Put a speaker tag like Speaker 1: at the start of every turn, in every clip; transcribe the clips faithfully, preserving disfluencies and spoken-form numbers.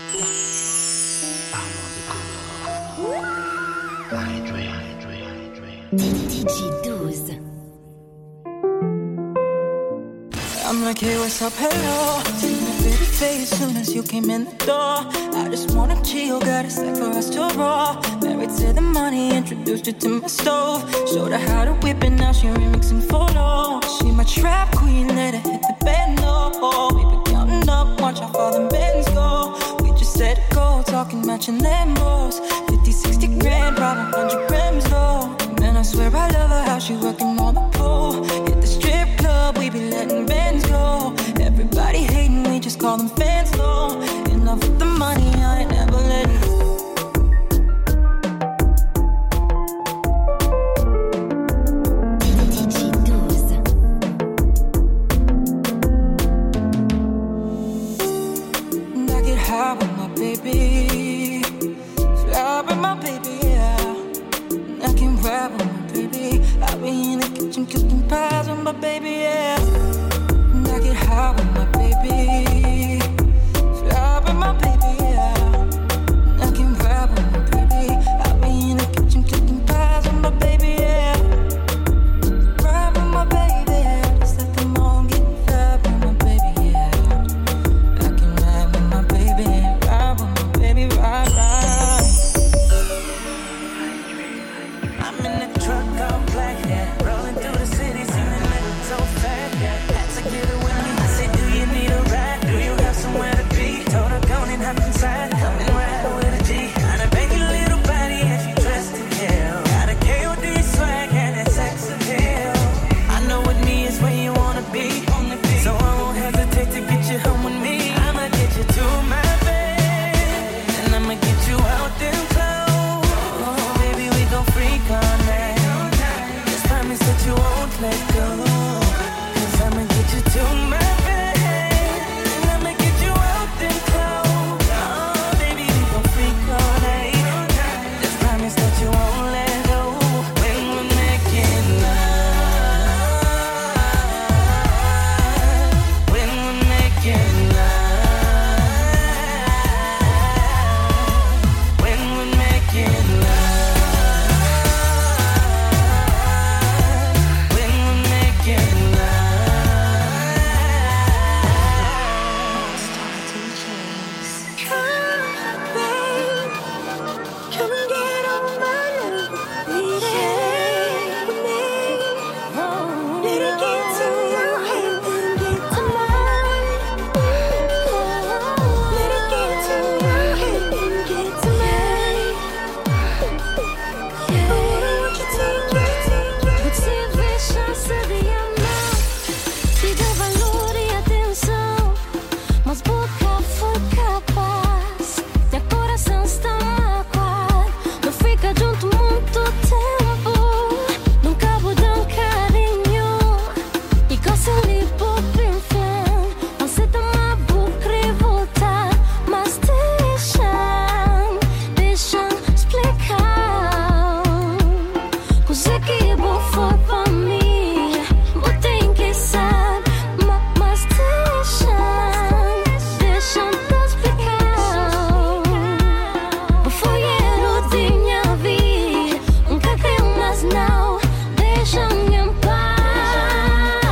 Speaker 1: I'm like, hey, what's up, hello. Seen a pretty face soon as you came in the door. I just wanna chill, got a sack for us to roll. Married to the money, introduced her to my stove. Showed her how to whip it, now she remixing photos. She my trap queen, let her hit the bed, no. We been counting up, watch how far the bands go. We just set a goal, talking matching Lambos. Fifty, sixty grand, probably one hundred grams low. Man, I swear I love her, how she working on the pole. Hit the strip club, we be letting bands go. Everybody hating, we just call them fans low. Enough with the money, I ain't never letting go. I get high with my baby, fly with my baby, yeah. I can ride with my baby. I be in the kitchen cooking pies with my baby, yeah. I get high with my baby, fly with my baby, yeah. I can ride with my baby. I be in the kitchen cooking pies with my baby, yeah. Ride with my baby, just let them all get fly with my baby, yeah. I can ride with my baby, ride with my baby, ride, ride. I'm in the truck all black, yeah. Rolling through the city, singing it so fast, yeah. Had to get it with me. I said, do you need a ride? Do you have somewhere to be? Told her, go and hop inside. Come and ride with a G. And I bang your little body and she dressed to kill. Got a K O D swag and that sex appeal. I know with me is where you wanna be. So I won't hesitate to get you home with me. I'ma get you to my bed. And I'ma get you out them clothes. Oh, baby, we gon' freak all night. Just promise that you won't let go. Cause I'ma get you to my bed. And I'ma get you out them clothes. Oh, baby, we gon' freak all night. Just promise that you won't let go. When we're making love. When we're making love. When we're making love. When we're making love. Start to chase. Come, babe. Come and get on my love. Need it with me. Need to get to your head and get to mine. Need to get to your head and get to mine. Yeah. What you take it?
Speaker 2: Você vê chance de amar, te dá valor e atenção, mas boca foi capaz, teu coração está magoado, não fica junto muito tempo, nunca vou dar um carinho, e gosto de pop em fã, você tá uma boca revoltada, mas deixa, deixa explicar. Coisa que bom foi pra mim, vou ter que saber, ma- mas deixa, deixa eu explicar. Foi erro de minha vida, nunca creio mais não, deixa-me em paz.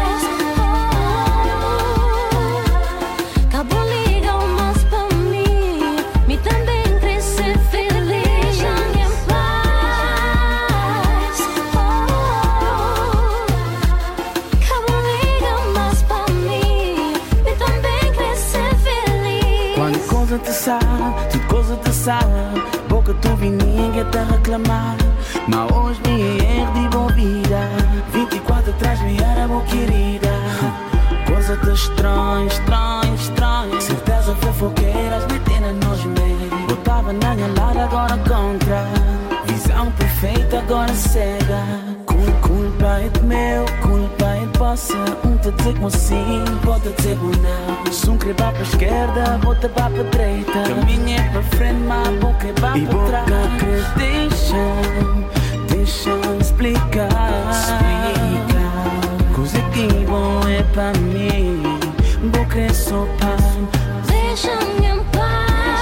Speaker 2: Acabou legal, mas pra mim, me também crescer feliz. Deixa-me em paz. Acabou legal, mas pra mim, me também crescer feliz.
Speaker 3: Quando coisa te sai, se coisa te sai, boca tu vi ninguém te reclamar. Mas hoje me erro de boa vida, vinte e quatro atrás me era boa querida. Coisa de estranho, estranho, estranho. Certeza fofoqueiras metendo nos meios. Botava na minha lado, agora contra. Visão perfeita, agora cega. Cul- Culpa é de meu, culpa é de vossa. Um te dizer como sim, outro dizer como não. Se um querer vá pra esquerda, outro vá pra direita. Caminho é pra frente, mas a boca é vá pra trás. E boca que deixa, deixa explicar. Coisa que bom é pra mim, boca é só paz.
Speaker 2: Deixa-me em paz.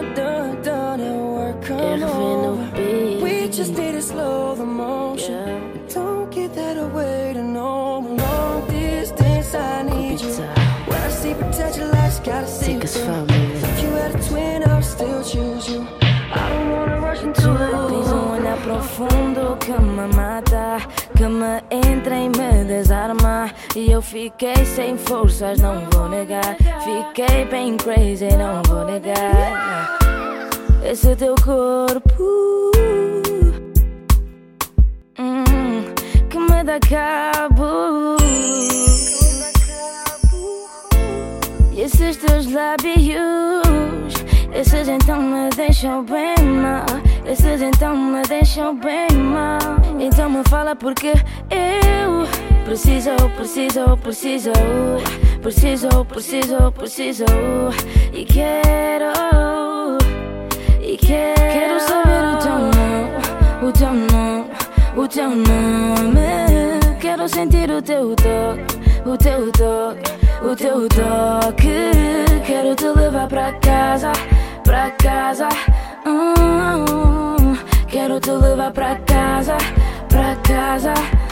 Speaker 4: done, done and work, come on. We just need to slow the motion. Yeah. Don't get that away to no long distance. I need you. When I see potential, I just gotta see you through. If you had a twin, I would still choose you. I don't wanna rush into it. Tens um olhar profundo que me mata, que me entra e me desarma. E eu fiquei sem forças, não vou negar. Fiquei bem crazy, não vou negar. Esse teu corpo hum, que me dá cabo. E esses teus lábios, esses então me deixam bem mal. Esses então me deixam bem mal. Então me fala porque eu preciso, preciso, preciso, preciso, preciso, preciso. E quero, e quero, quero saber o teu nome, o teu nome, o teu nome. Quero sentir o teu toque, o teu toque, o teu toque. Quero te levar pra casa, pra casa. Hum, quero te levar pra casa, pra casa.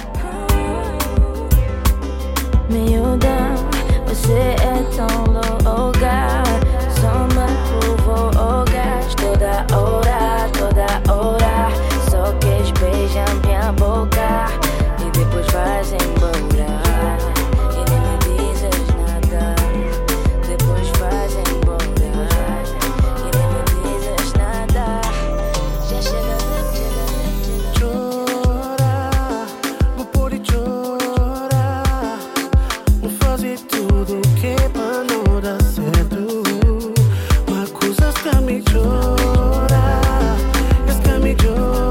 Speaker 4: Miúda, você é tão louca. Só me provocas toda hora, toda hora. Só queres beijar minha boca e depois vais embora. E nem me dizes nada, depois vais embora. E nem me dizes nada. Já chega de chorar, vou pôr e chorar. Vou fazer tudo que é pra não dar certo. Mas coisas que me chorar, es que me chorar.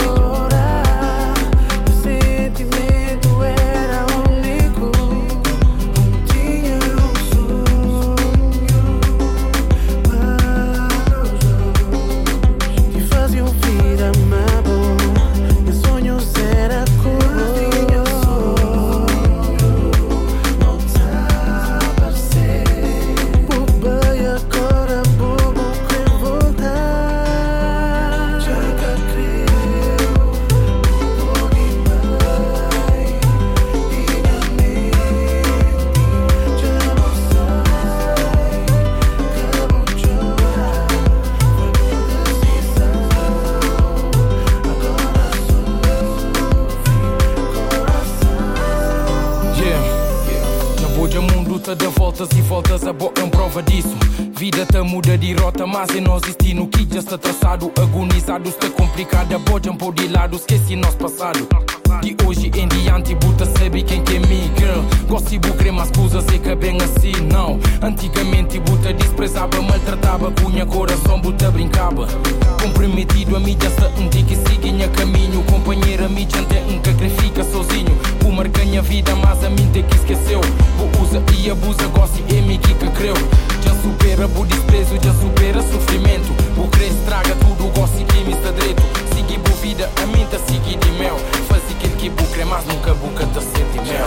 Speaker 5: De voltas e voltas, a boa é prova disso. Vida te muda de rota, mas é nosso destino que já está traçado. Agonizado, está complicado. A boa é um pôr de lado, esqueci nosso passado. De hoje em diante, buta sabe quem que é me, girl. Gosto e bucre, mas coisas é que bem assim, não. Antigamente, buta desprezava, maltratava, cunha coração, buta brincava. Comprometido, a mídia está um dia que siga em caminho. Companheira, mídia até um que fica sozinho. O marca minha vida, mas a mim tem que esqueceu. O usa e abusa, gosta e é me que creu. Já supera o desprezo, já supera sofrimento. O cresce, traga tudo, gosta e que me está direito. Sigue boa vida, a mim tá seguir de mel. Faz aquilo que bucre, mas nunca buca tá sente mel.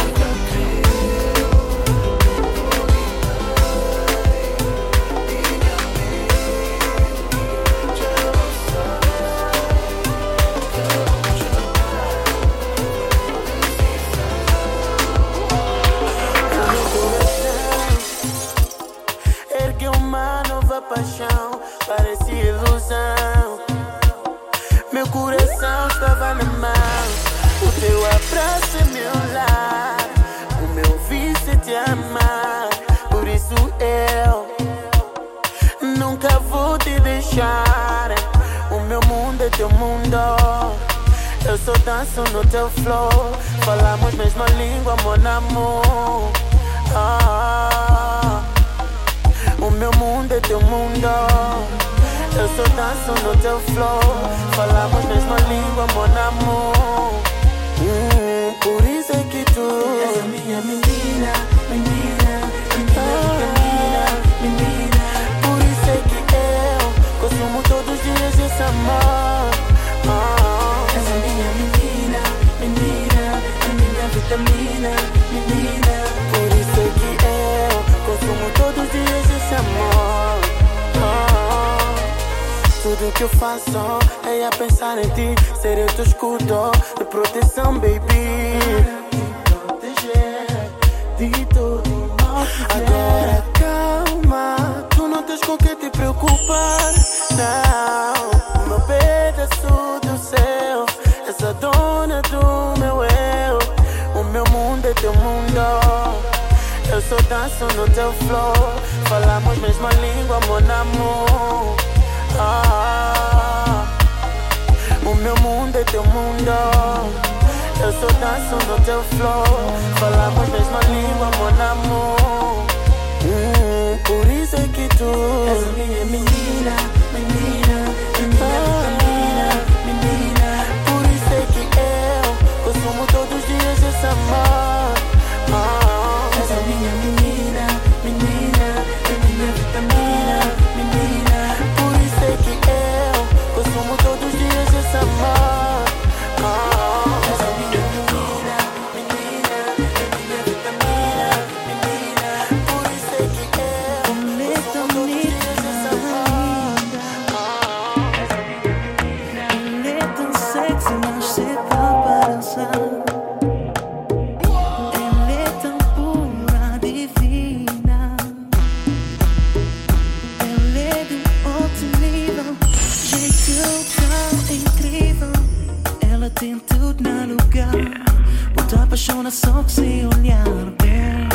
Speaker 3: Paixão, parecia ilusão. Meu coração estava na mão. O teu abraço é meu lar. O meu vício é te amar. Por isso eu nunca vou te deixar. O meu mundo é teu mundo. Eu só danço no teu flow. Falamos mesma língua, mon amor. Ah, o meu mundo é teu mundo. Eu só danço no teu flow. Falamos mesma língua, mon amor. hum, Por isso é que tu és a minha menina, menina, menina, menina, menina. Por isso é que eu consumo todos os dias esse amor. oh. És a minha menina, menina, a minha vitamina, menina. Por isso é que eu consumo todos os dias esse amor. oh. Tudo que eu faço é a pensar em ti, ser o teu escudo de proteção, baby. Proteger de tudo. Agora calma, tu não tens com que te preocupar. Não, o meu pedaço do céu, és a dona do meu eu. O meu mundo é teu mundo, eu só danço no teu flow. Falamos mesma língua, mon amor. Ah, o meu mundo é teu mundo, eu só danço no teu flow. Falamos mesma língua, mon amor. hum, Por isso é que tu és a minha menina, menina, menina, vitamina, menina. Por isso é que eu consumo todos os dias esse amor. ah, És a minha menina, menina, menina, vitamina, menina. Por isso é que eu consumo todos os dias esse amor. ah, És a minha menina, menina, menina, vitamina, menina. Por isso é que eu consumo todos os dias esse amor. ah, És a minha menina.
Speaker 6: Ele é tão sexy, mas cedo para dançar. Ele é tão pura, divina. Ele é de um outro nível, jeito tão incrível. Ela tem tudo no lugar, bota apaixona só que se olhar bem.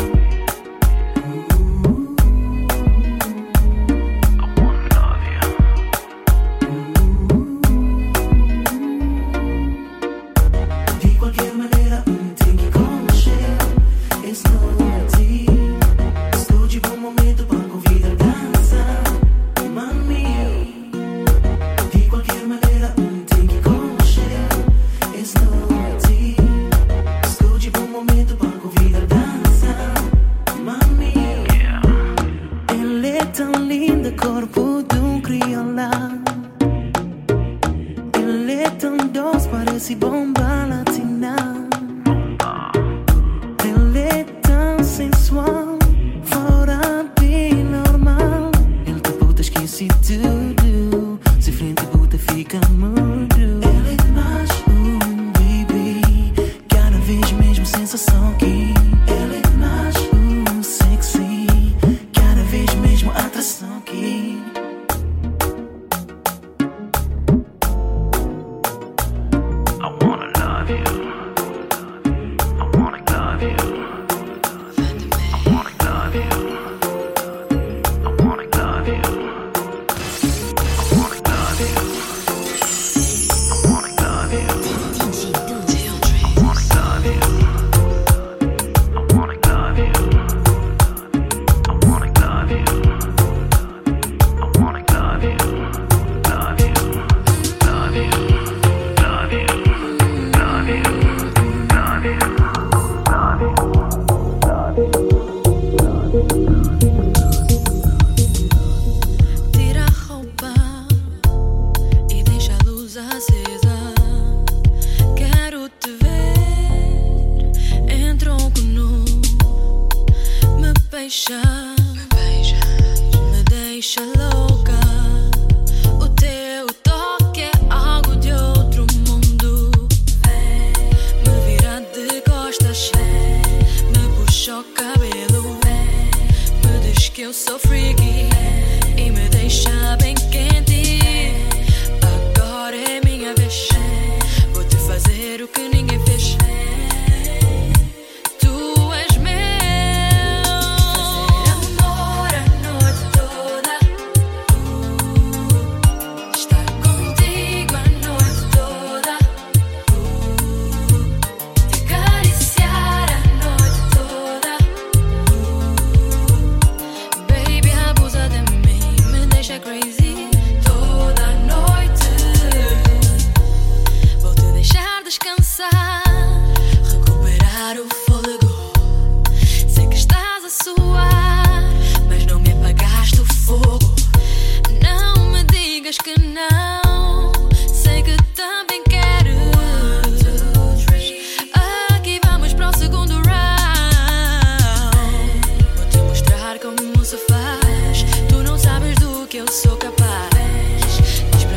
Speaker 6: De qualquer maneira, um tem que conhecer. Esse não é ti. Estou de bom momento para convidar a dança, mami. De qualquer maneira, um tem que conhecer. Esse não é ti. Estou de bom momento para convidar a dança, mami. Ele é tão lindo, corpo de um crioula. Ele é tão doce, parece bomba latina. Ele é tão sensual, fora bem normal. Ele te bota, esquece tudo. Se frente bota, fica mudo. Ele é mais um baby, cada vez mesmo sensação que ele é mais um sexy, cada vez mesmo atração que I wanna love you. I wanna love you. I wanna love you. I wanna love you. I wanna love you. I wanna love you. I wanna love you. I wanna love you. I wanna love you. I wanna love you. Love you. Love you. Love you. Love you. Love you.
Speaker 2: Tira a roupa e deixa a luz acesa. Quero te ver em tronco nu. Me beija, me deixa louca. O teu toque é algo de outro mundo. Me vira de costas, me puxa o cabelo, me diz que eu sou freaky e me deixa bem quente. Agora é minha vez, vou te fazer o que ninguém fez. Tu és meu. Fazer amor a noite toda, uh, estar contigo a noite toda, uh, te acariciar a noite toda, uh, baby, abusa de mim, me deixa crazy toda a noite. Vou te deixar descansar, recuperar o fôlego. Sei que estás a suar, mas não me apagaste o fogo. Não me digas que não, sei que também quero. Aqui vamos para o segundo round. Vou te mostrar como se faz. Tu não sabes do que eu sou capaz. Diz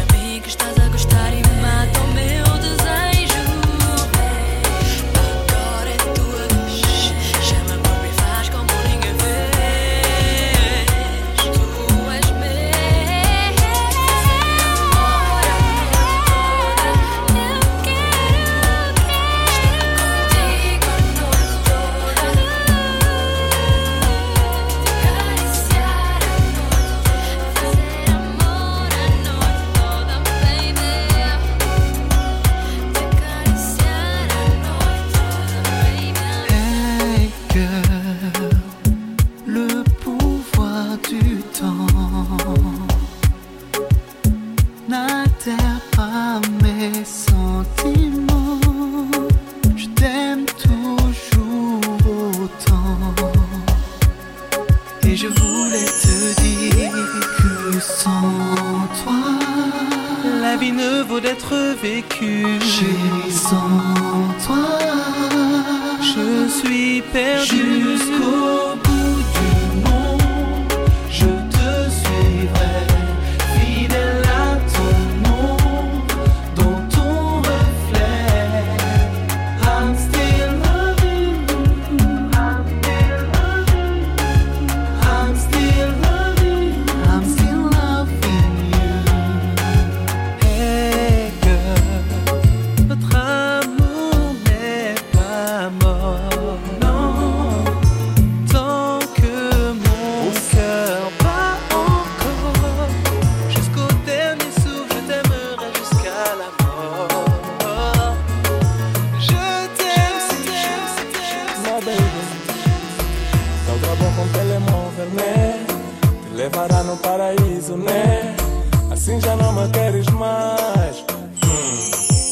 Speaker 7: n'altère pas mes sentiments. Je t'aime toujours autant. Et je voulais te dire que sans toi, la vie ne vaut d'être vécue. Chérie, sans toi, je suis perdu. Jusqu'au bout du monde, je te suivrai, fidèle à ton ombre, dans ton reflet. I'm still loving you, I'm still loving you, I'm still loving you, I'm still loving you. Hey girl, notre amour n'est pas mort, non. Tant que mon cœur bat encore, jusqu'au dernier souffle, je t'aimerai jusqu'à la mort. Je t'aime, je t'aime.
Speaker 8: My baby, só bom com telemóvel, né? Te levará no paraíso, né? Assim já não me queres mais. Hum.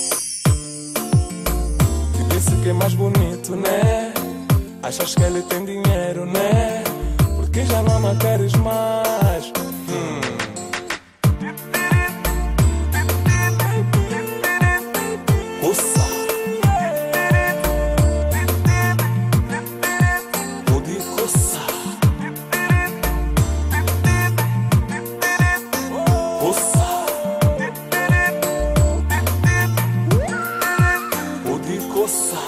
Speaker 8: Te disse que é mais bonito, né? Achas que ele tem dinheiro, né? Porque já não me queres mais. Hum. Ussa. Udi coça. Ussa. Udi coça.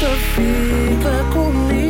Speaker 3: Força, fica comigo.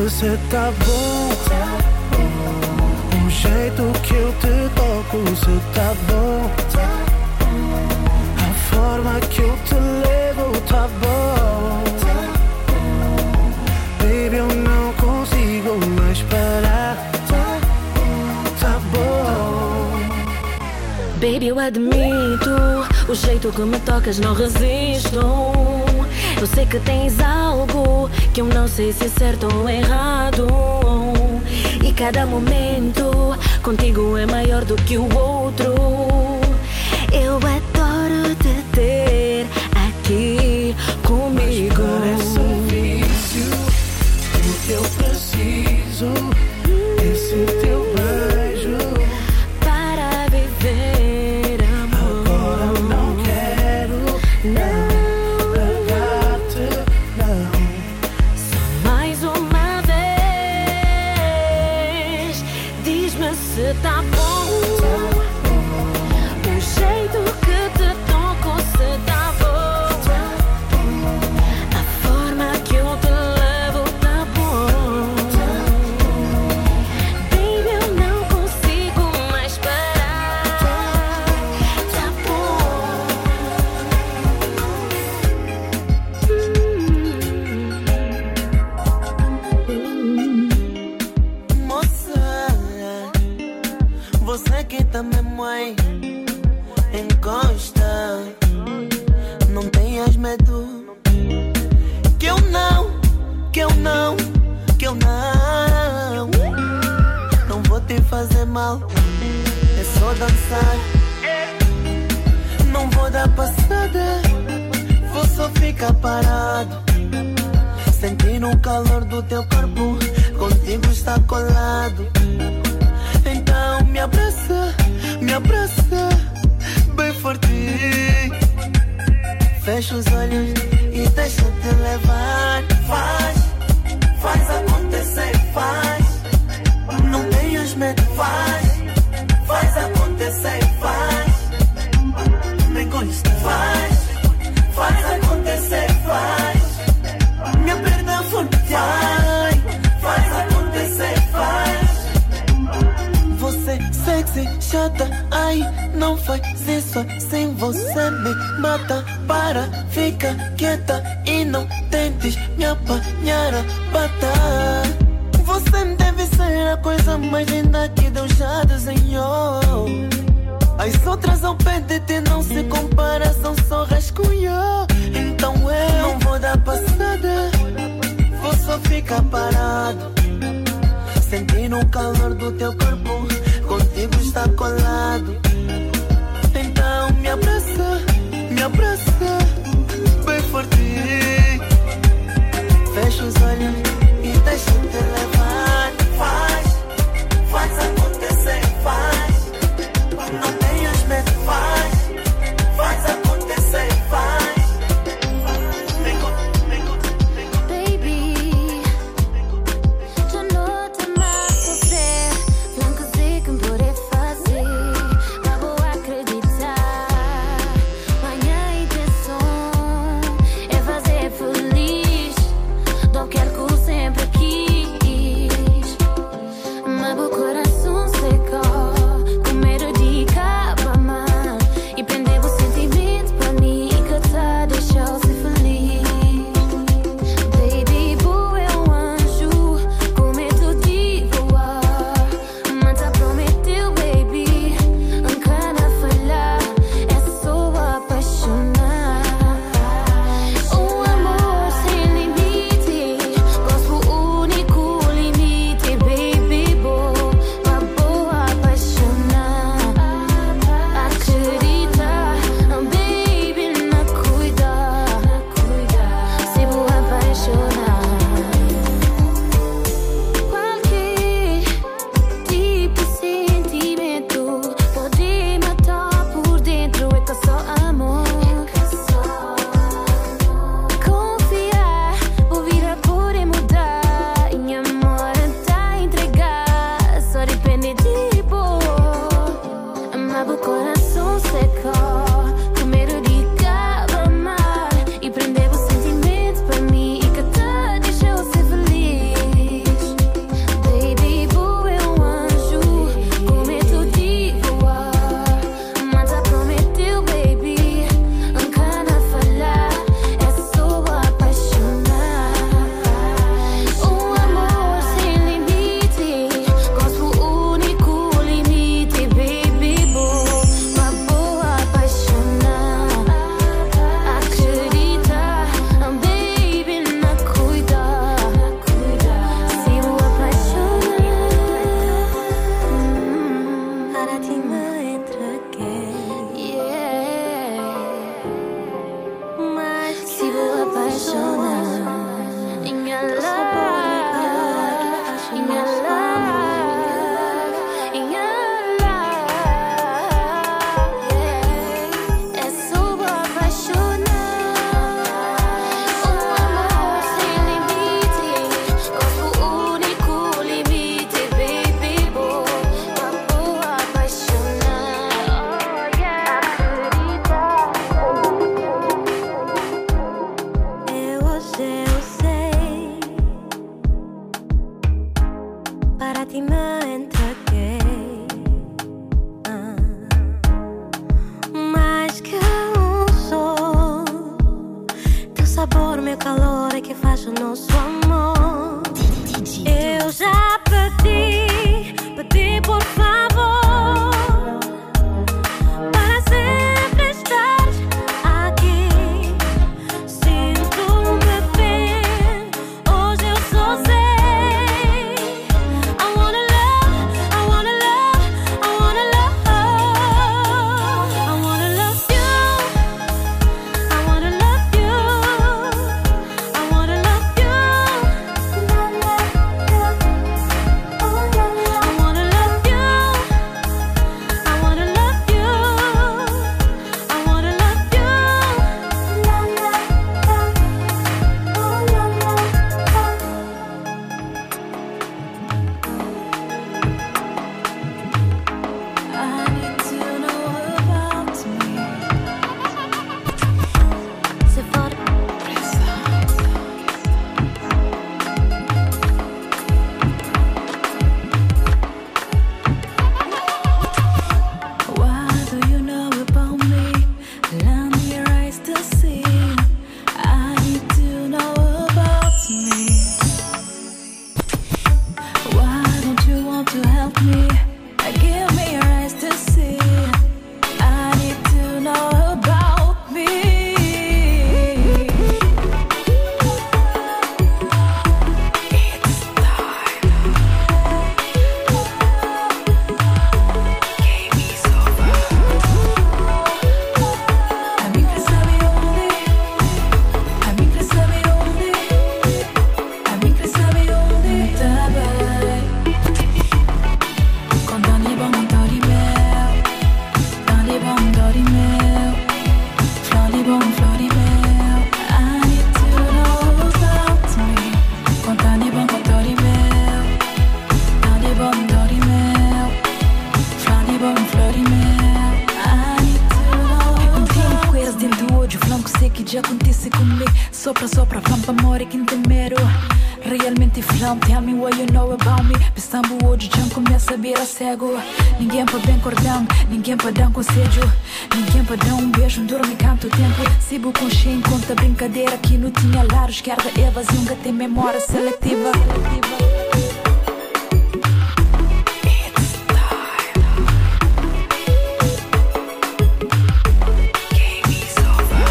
Speaker 3: se tá bom. O jeito que eu te toco, se tá bom. A forma que eu te levo, tá bom. Baby, eu não consigo mais parar. Tá bom.
Speaker 4: Baby, eu admito, o jeito que me tocas não resisto. Eu sei que tens algo que eu não sei se é certo ou errado. E cada momento contigo é maior do que o outro. Eu adoro te ter aqui comigo.
Speaker 3: Parece um vício, o que eu preciso, esse teu beijo
Speaker 4: para viver, amor.
Speaker 3: Agora não quero, não.
Speaker 4: Se tá bom, o jeito que te toco, se tá bom, a forma que eu te levo, tá bom. Baby, eu não consigo mais parar, tá bom.
Speaker 6: hum. Moça, você que também mãe, encosta. Não tenhas medo. Que eu não, que eu não, que eu não. Não vou te fazer mal, é só dançar. Não vou dar passada, vou só ficar parado, sentindo o calor do teu corpo, contigo está colado. Então me abraça, me abraça bem forte. Fecha os olhos e deixa-te levar. Faz, faz acontecer, faz. Não tenhas medo, faz. Faz acontecer, faz. Me consta, faz. Faz acontecer, faz. Me aperta forte, faz. Faz acontecer, faz. Você sexy, chata, ai, não faz isso assim, você me mata. Para, fica quieta e não tentes me apanhar a pata. Você deve ser a coisa mais linda que Deus já desenhou. As outras ao pé de ti não se compara, são só rascunho. Então eu não vou dar passada, vou só ficar parado, sentindo o calor do teu corpo, contigo está colado. Então me abraça, me abraça bem forte. Fecha os olhos e deixa-te levar. Faz, faz acontecer, faz. Não tenhas medo, faz. Faz acontecer, faz. Vem com, vem com, vem com.
Speaker 2: Baby, tu notas más sofrer. hoje eu sei, para ti me entreguei. Ah, mais que um sol, teu sabor, meu calor é que faz o nosso amor. Eu já pedi, pedi por favor, para sempre estar aqui. Sinto-me bem, hoje eu só sei. I wanna love, I wanna love, I wanna love. I wanna love you, I wanna love you, I wanna love you. I wanna love you, I wanna love you, I wanna love you. I need to know about me. Se for what do you know about me? Lend me your eyes to see. I need to know about me. Why don't you want to help me? Give me your eyes to see. I need to know about me. It's time. Game is over. A mim quer saber onde, a mim quer saber onde, a mim quer saber onde tá bem. Con Dani bom dori meu, Dani bom dori meu, Flori bom flori meu. I need to know about me. Con Dani bom dori meu, Dani bom dori meu, Flori bom flori meu. I need to know.
Speaker 9: Um tempo com eles dentro do olho, falando que sei que já acontece comigo. Sopra, sopra, vamos para amor e quem tem medo. Realmente flam, tell me what you know about me. Pensando hoje já começa a virar cego. Ninguém pode bem cordão, ninguém pode dar um conselho, ninguém pode dar um beijo, um dorme canto o tempo. Se bu consciente conta brincadeira que não tinha lar, esquerda Evas e um gato tem memória seletiva. It's time. Game is over.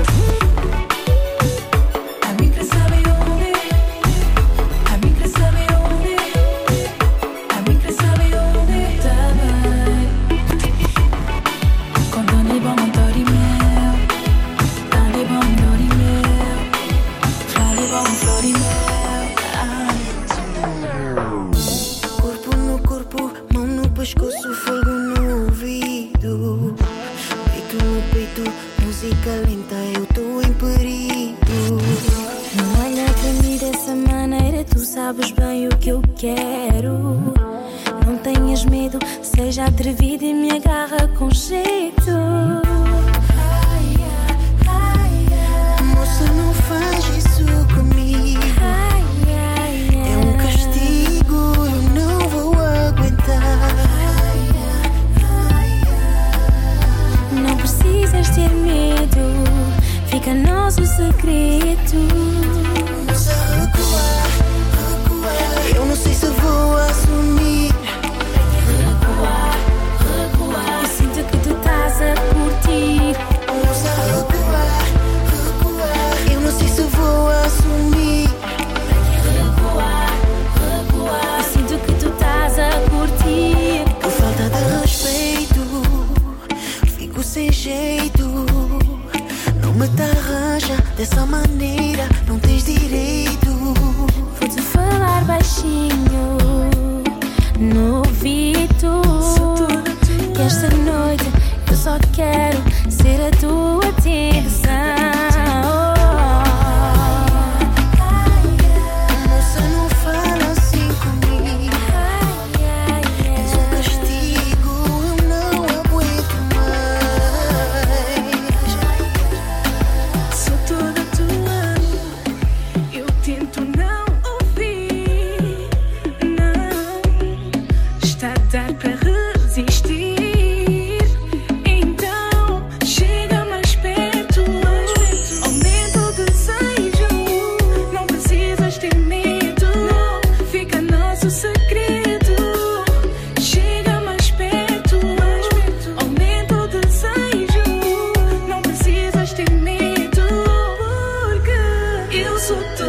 Speaker 2: A mim quer saber onde, a mim quer saber onde, a mim quer saber onde tá bem.
Speaker 9: Con Dani bom dori meu, Dani bom dori meu, Flori bom flori meu.
Speaker 2: Corpo no corpo, mão no pescoço, fogo no ouvido. Peito no peito, música lenta, eu tô em perigo. Não olha pra mim dessa maneira, tu sabes bem o que eu quero. Não tenhas medo, seja atrevido e me agarra com jeito. Moça, não faz isso comigo. É um castigo, eu não vou aguentar. Não precisas ter medo, fica nosso segredo. Moça, recua, recua. Eu não sei se vou assumir. Recua, recua. Eu sinto que tu estás a curtir.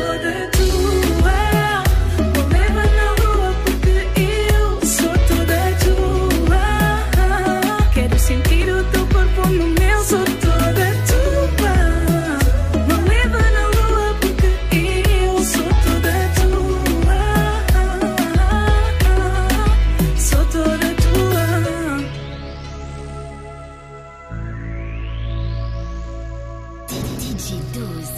Speaker 10: toda tua. Me leva na lua porque eu sou toda tua. Quero sentir o teu corpo no meu, sou toda tua. Me leva na lua porque eu sou toda tua. Sou toda tua.
Speaker 2: D J doze.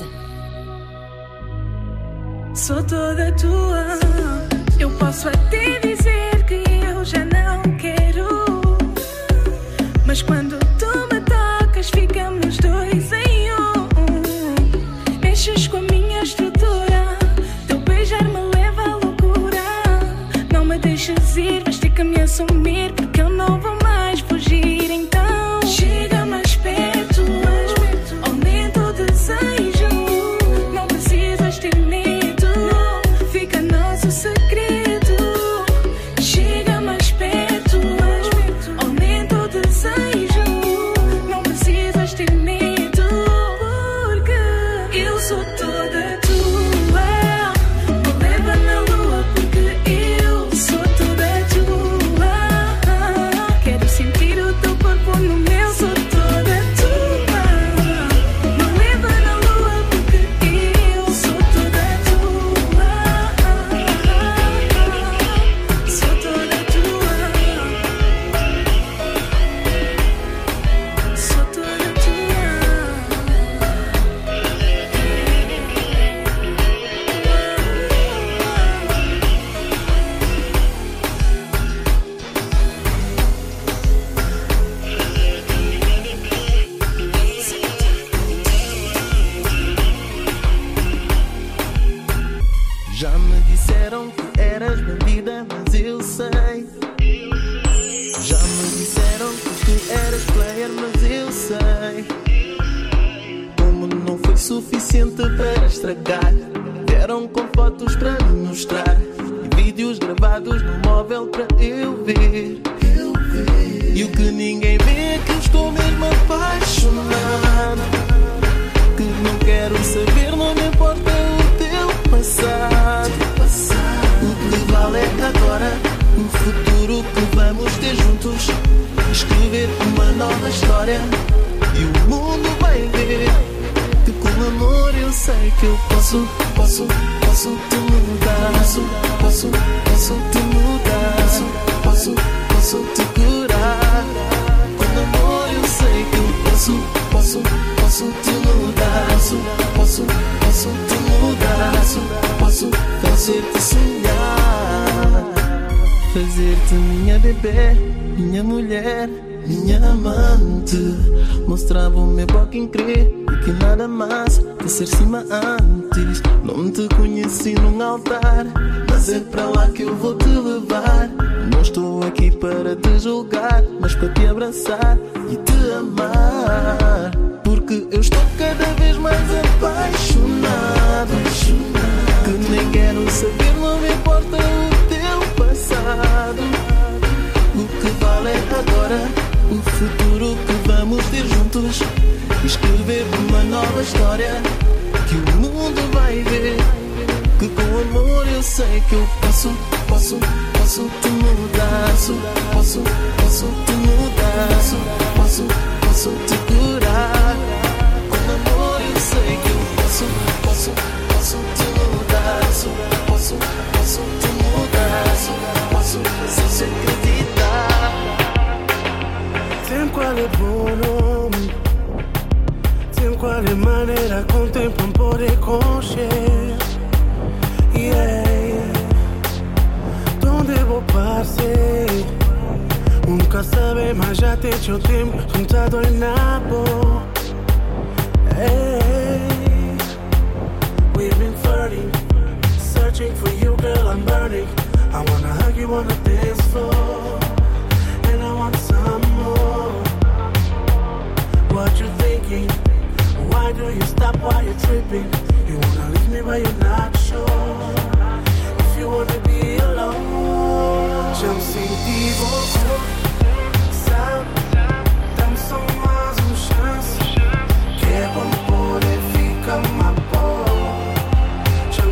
Speaker 10: Sou toda tua. Eu posso até dizer que eu já não quero, mas quando tu me tocas ficamos dois em um. Mexes com a minha estrutura, teu beijar me leva à loucura. Não me deixes ir, vais ter que me assumir, porque eu não vou mais fugir. Então chega mais perto, aumenta o desejo. Não precisas ter medo, fica nosso segredo. Chega mais perto, aumenta o desejo. Não precisas ter medo, porque eu sou toda tua. Me leva na lua porque eu sou toda tua. Quero sentir o teu corpo no meu, sou toda tua. Me leva na lua porque eu sou toda tua. Sou toda tua. Sou toda tua.
Speaker 3: Já me disseram que eras bandida, mas eu sei. Já me disseram que tu eras player, mas eu sei. Como não foi suficiente para estragar, vieram com fotos para me mostrar e vídeos gravados no móvel para eu ver. E o que ninguém vê é que eu estou mesmo apaixonado, que não quero saber, não me importa o teu passado. O que vale é agora, o futuro que vamos ter juntos. Escrever uma nova história e o mundo vai ver que com amor eu sei que eu posso, posso, posso te mudar. Posso, posso, posso te mudar. Posso, posso te curar. Com amor eu sei que eu posso, posso, posso te mudar. Posso, posso, posso te mudar. Posso fazer-te sonhar, fazer-te minha bebê, minha mulher, minha amante. Mostrava o meu boca incrível que nada mais que ser cima antes. Não te conheci num altar, mas é para lá que eu vou te levar. Não estou aqui para te julgar, mas para te abraçar e te amar. Porque eu estou cada vez mais apaixonado, que nem quero saber, não me importa o teu passado. O que vale é agora, o futuro que vamos ter juntos. Escrever uma nova história que o mundo vai ver. Que com amor eu sei que eu posso, posso, posso te mudar. Posso, posso, posso te mudar. Posso, posso te curar. Com amor eu sei que eu posso, posso, posso te mudar. Posso, posso te mudar. Posso, se acreditar.
Speaker 11: Tem qual é bom nome, tem qual é maneira com o tempo não poder concher. Yeah. Donde vou passar? Nunca sabe, mas já tem seu tempo juntado em nabo. Hey. We've been flirting, searching for you, girl, I'm burning. I wanna hug you on the dance floor, and I want some more. What you thinking? Why do you stop while you're tripping? You wanna leave me but you're not sure. If you wanna be alone, já me senti você, sabe? Dá-me só mais uma chance, que é bom poder ficar mais bom. Já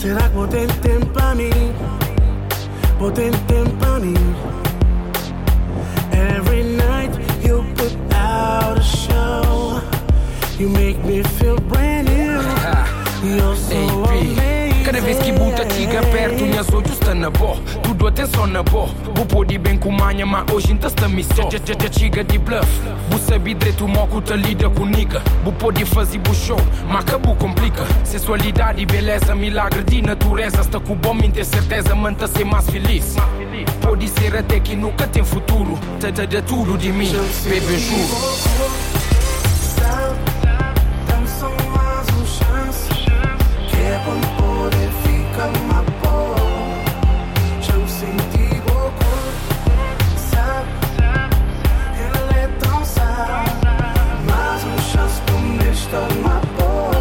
Speaker 11: Será que vou ter tempo pra mim? Vou ter tempo pra mim. Every night you put out a show. You make me feel brand new. You're so amazing.
Speaker 5: Cada vez que buta chega perto, minhas olhos estão na boa. Tudo atenção na boa. Vou pode bem com manha, mas hoje ainda está me só. Já já chega de bluff. Vou saber direito o moco tá lida com nigga. Vou pode fazer bu show, mas acabou complica. Sensualidade e beleza, milagre de natureza. Está com o bom, me ter certeza, manta ser mais feliz. Pode ser até que nunca tem futuro. Tá de tudo de mim, baby, juro.
Speaker 11: Dá-me só mais uma chance. Que é pra me poder ficar mais boa. Já me senti louco. Sabe, ele é tão sábio. Mais uma chance pra me deixar mais boa.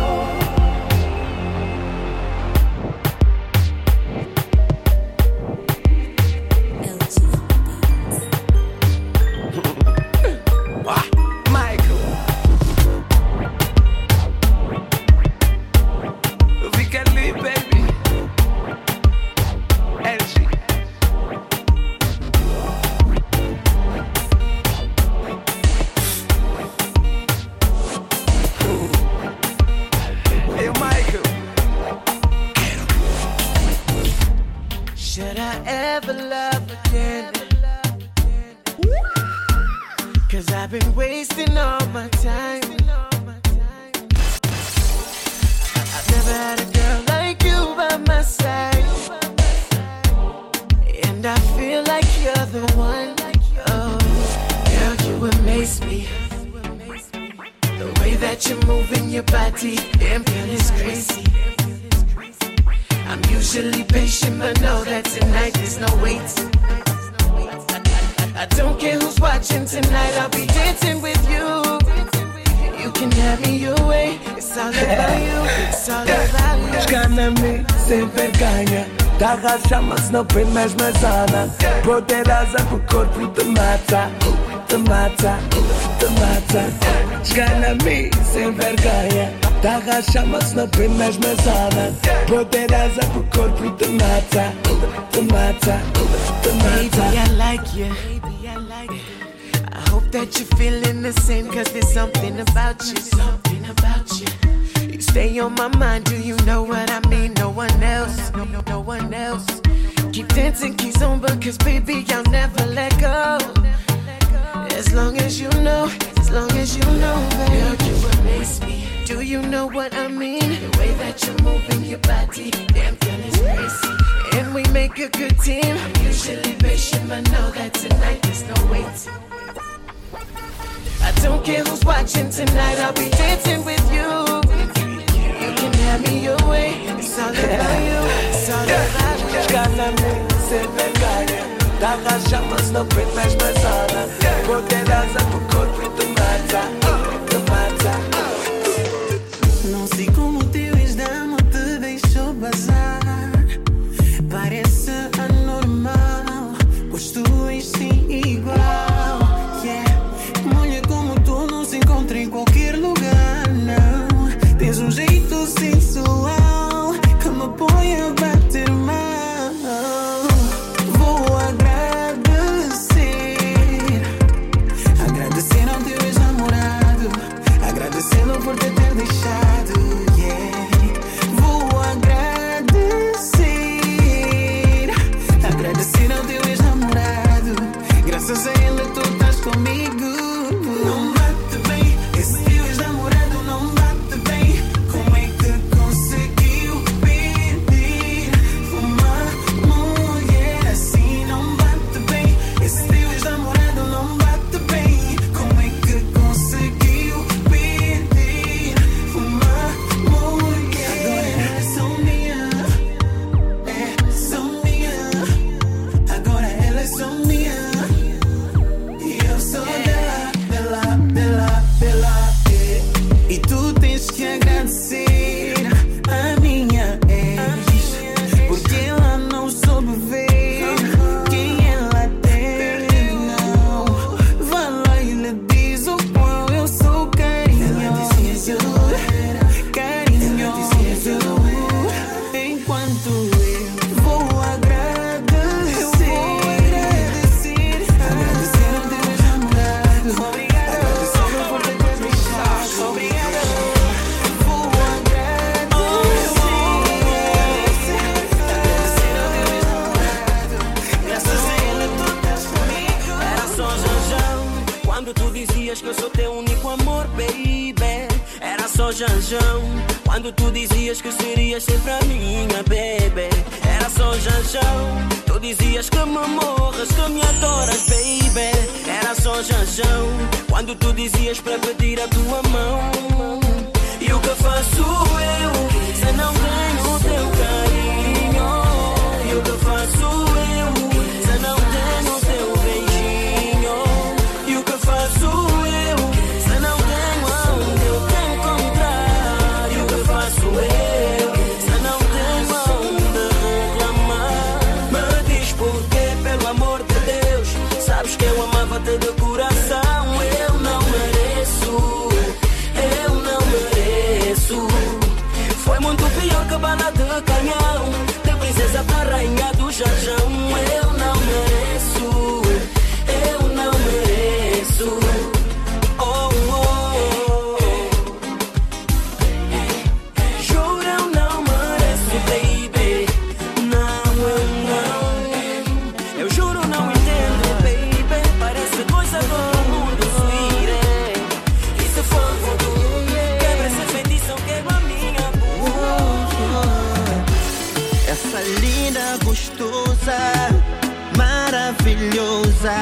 Speaker 3: Should I ever love again? Cause I've been wasting all my time. I've never had a girl like you by my side. And I feel like you're the one. Oh, girl, you amaze me. The way that you're moving your body, damn girl, it's crazy. I'm usually patient, but know that tonight there's no wait. I, I don't care who's watching tonight, I'll be dancing with you. You can have me your way, it's all about you, it's all about you.
Speaker 11: Escana-me sem vergonha. Dá chama-se não prende mais mazana. Poderosa pro corpo te mata. Te mata, te mata. Escana-me sem vergonha. Dá chama-se não prende mais mazana. Poderosa pro corpo te mata. Te mata, te mata.
Speaker 3: Baby, I like you. I hope that you're feeling the same, cause there's something about you, something about you. You stay on my mind, do you know what I mean? No one else, no, no, no one else. Keep dancing, keep on, because baby, I'll never let go. As long as you know, as long as you know, baby. Girl, you amaze me. Do you know what I mean? The way that you're moving your body, damn girl, it's crazy. And we make a good team. I'm usually patient, but know that tonight there's no wait. I don't care who's watching tonight, I'll be dancing with you. You can have me your way, it's all about you, it's all about you.
Speaker 11: Escana-me sem vergonha. Dá chamas não prende mais mazana. Poderosa pro corpo te mata. Te mata.
Speaker 6: Não sei como o teu ex-dama te deixou bazar. Parece anormal, pois tu és sim igual. Yeah. Mulher como tu não se encontra em qualquer lugar, não. Tens um jeito sensual que me põe a bater mal. Vou agradecer, agradecer ao teu ex-namorado, agradecê-lo por te ter deixado. Yeah. Vou agradecer.
Speaker 3: sinto eu vou agradecer. Eu vou agradecer. Agradecer ao teu ex-namorado. Obrigado. Agradecer por ter me deixado. Obrigado. Vou agradecer. Agradecer ao teu ex-namorado. Graças a ele tu estás comigo.
Speaker 1: Era só janjão quando tu dizias que eu sou teu único amor, baby. Era só janjão quando tu dizias que serias sempre a minha, baby. Era só janjão, tu dizias que me morras, que me adoras, baby. Era só janjão quando tu dizias para pedir a tua mão. E o que faço eu se não tenho o teu carinho? E o que faço eu se não tenho o teu beijinho? E o que faço eu se não tenho aonde eu te encontrar? E o que faço eu se não tenho aonde reclamar? Me diz porquê, pelo amor de Deus. Sabes que eu amava-te de coração. Eu não mereço, eu não mereço. Foi muito pior que bala de canhão, de princesa pra rainha do jarjão. Eu não mereço, eu não mereço. Oh, oh, oh. Juro, eu não mereço, baby. Não, eu não. Eu juro, não entendo, baby. Parece coisa do mundo, sweetie. E se for voodoo, quebra esse feitiço, quebra a minha boca.
Speaker 12: Essa linda, gostosa, maravilhosa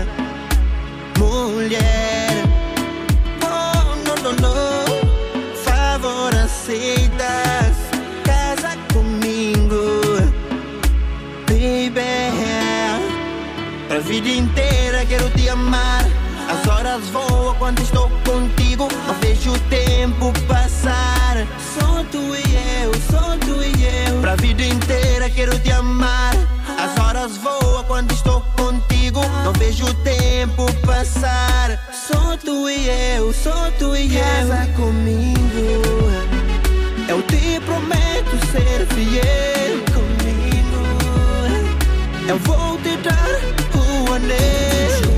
Speaker 12: mulher. Oh, não, não, não. Favor, aceitas casa comigo, baby. Pra vida inteira quero te amar. As horas voam quando estou contigo. Não vejo o tempo passar. Só tu e eu, só tu e eu. Pra vida inteira quero te amar. As horas voam quando estou contigo. Não vejo o tempo passar. Só tu e eu, só tu e eu. Casa comigo. Eu te prometo ser fiel comigo. Eu vou te dar o anel.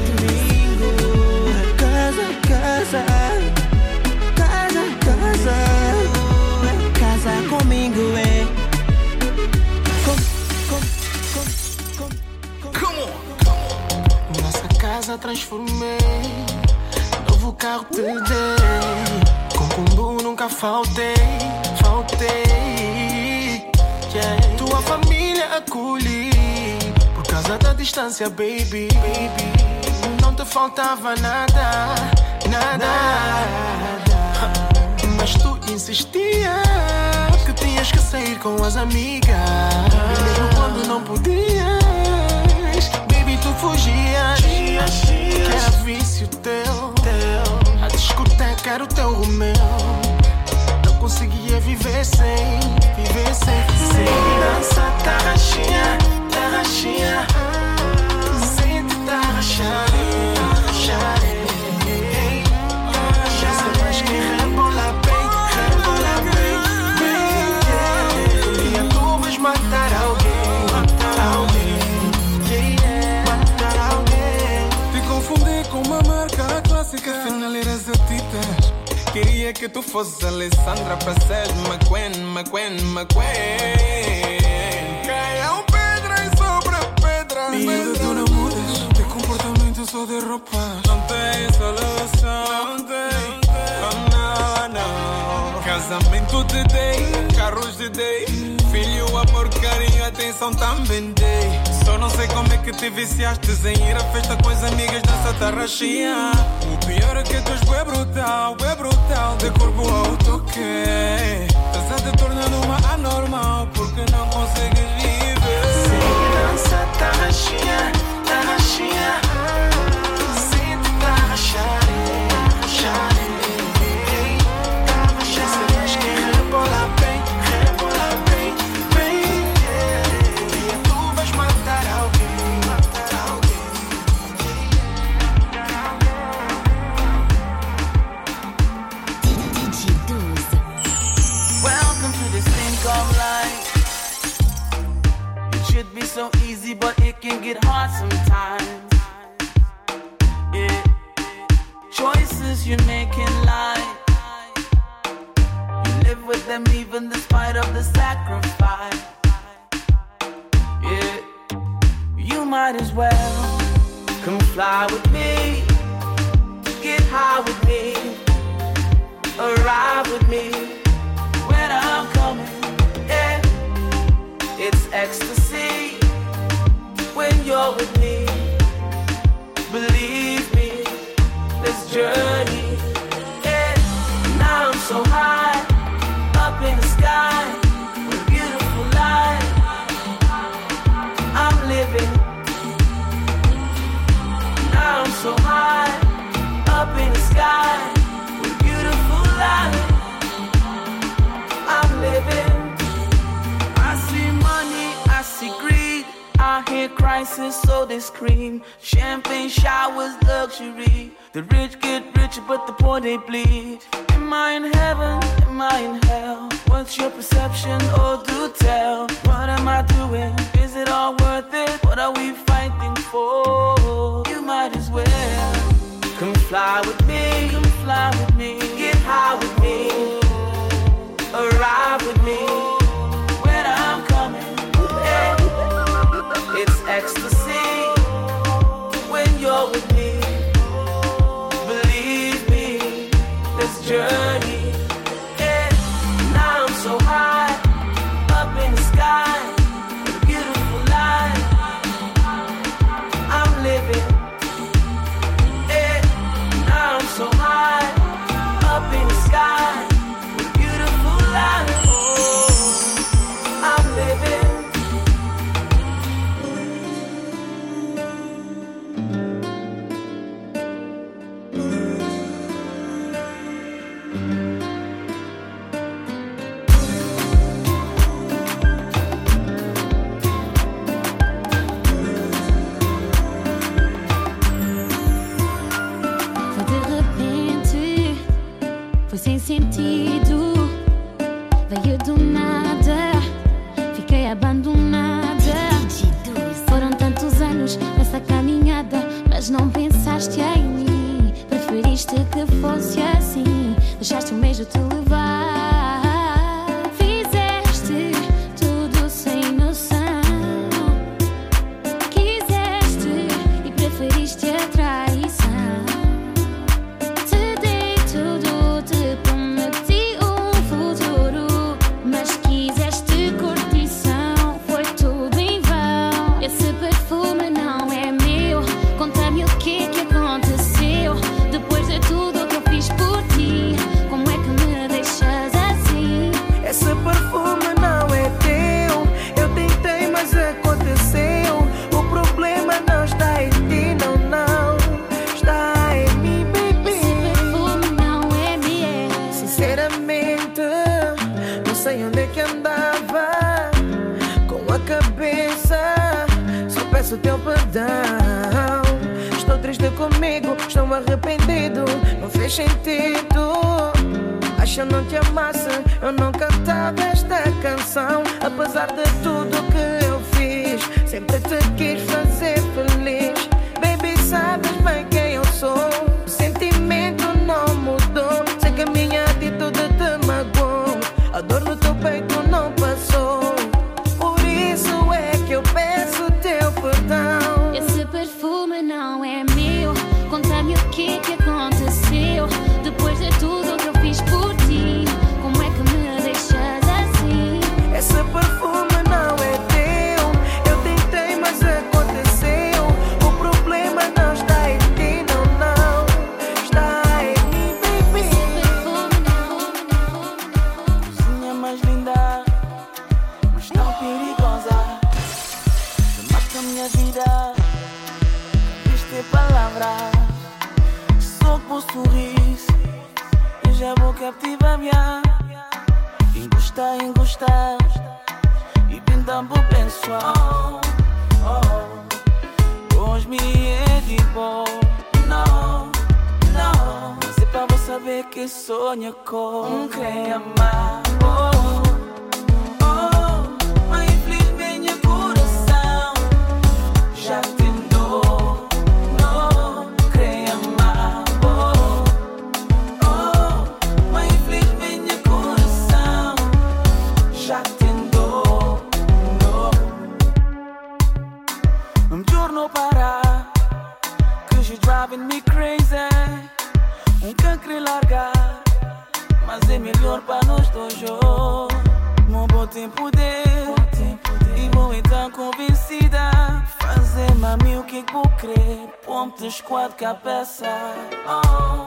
Speaker 12: Casa, casa, casa, casa comigo, é. Com, com, com, com.
Speaker 3: Come on. Nossa casa transformei, novo carro te dei. Com combo nunca faltei, faltei. Yeah. Tua família acolhi, por causa da distância, baby, baby. Não te faltava nada, nada. Mas tu insistias que tinhas que sair com as amigas, mesmo quando não podias. Baby, tu fugias, que era vício teu. A discoteca era o teu Romeu. Não conseguia viver sem, viver sem. Segurança, tarraxinha, tarraxinha. Sente tarraxinha.
Speaker 8: Finaleras atitas. Queria que tu fosses Alessandra para ser McQueen, McQueen, McQueen. Caiam pedras sobre pedras. Miúda, tu não mudas. Teu comportamento só de roupa. Não tem solução. Não tem, oh, não, não. Casamento te dei, carros te dei. Filho, amor, carinho, atenção também dei. Só não sei como é que te viciaste em ir à festa com as amigas nessa tarraxinha. O pior é que tu és bué brutal, bué brutal, de corpo ao toque. Estás a te tornando uma anormal, porque não consegues viver.
Speaker 3: Segurança, tarraxinha, tarraxinha. Sinto tarraxar, tarraxar. Você mais que rebola bem, rebola bem, bem. E tu vais matar alguém, matar alguém.
Speaker 1: Welcome to this thing called life.
Speaker 3: so easy, but it can get hard sometimes. Yeah. Choices you make in life, you live with them even despite of the sacrifice. Yeah. You might as well come fly with me, get high with me, arrive with me when I'm coming. Yeah. It's ecstasy when you're with me. Believe me, this journey. Yeah. Now I'm so high, up in the sky, with beautiful life. I'm living. Now I'm so high, up in the sky, with beautiful life. I'm living. I see money, I see greed, I hear crisis, so they scream. Champagne showers, luxury. The rich get richer, but the poor they bleed. Am I in heaven? Am I in hell? What's your perception? Oh, do tell. What am I doing? Is it all worth it? What are we fighting for? You might as well come fly with me. Come fly with me. Get high with me. Arrive with me when I'm coming. Yeah. It's ecstasy when you're with me. Believe me, this journey. Yeah. Now I'm so high, up in the sky, with a beautiful life. I'm living. Yeah. Now I'm so high, up in the sky, with a beautiful life. Oh, I'm living.
Speaker 2: Foi sem sentido, veio do nada, fiquei abandonada. Foram tantos anos nessa caminhada, mas não pensaste em mim. Preferiste que fosse assim, deixaste o mesmo te levar. Fizeste tudo sem noção, quiseste e preferiste a traição.
Speaker 13: O teu perdão. Estou triste comigo, estou arrependido. Não fez sentido. Acho que eu não te amasse, eu não cantava esta canção. Apesar de tudo que eu fiz, sempre te quis fazer feliz. Baby, sabes bem quem eu sou. O sentimento não mudou. Sei que a minha atitude te magoou. A dor no teu peito não passou. Por isso é que eu peço teu perdão.
Speaker 2: Esse perfume não é meu. Conta-me o que que aconteceu. Depois de tudo que eu fiz por ti, como é que me deixas assim?
Speaker 13: Esse perfume não é teu. Eu tentei, mas aconteceu. O problema não está em ti, não, não. Está em mim, baby.
Speaker 2: Esse perfume não.
Speaker 3: Cozinha mais linda, mas tão perigosa. Mata minha vida, viste palavras. Só com sorriso, eu já vou captivar minha. Engostar, engostar, e bem tambo pessoal. Oh, hoje me é de bom. Não, não, mas é pra você saber que sonha com quem amar. Oh, oh, mas infeliz minha coração. hoje, meu bom tempo de e vou então convencida. Fazer mami o que que vou crer. Ponte quatro cabeça. Oh,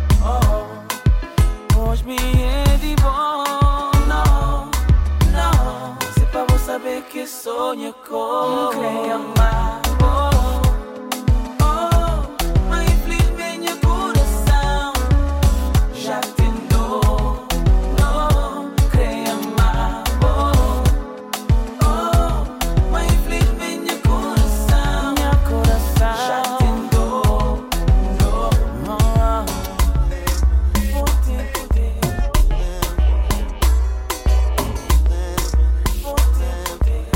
Speaker 3: oh. Hoje me é de bom. Não, não. Se pra você saber que sonha com quem amar. Oh, oh. Mas infelizmente meu coração já tentou. Não, quem amar. Oh, oh. Mas infelizmente meu coração, meu coração já tentou. Não, não. Vou ter poder. Vou ter poder.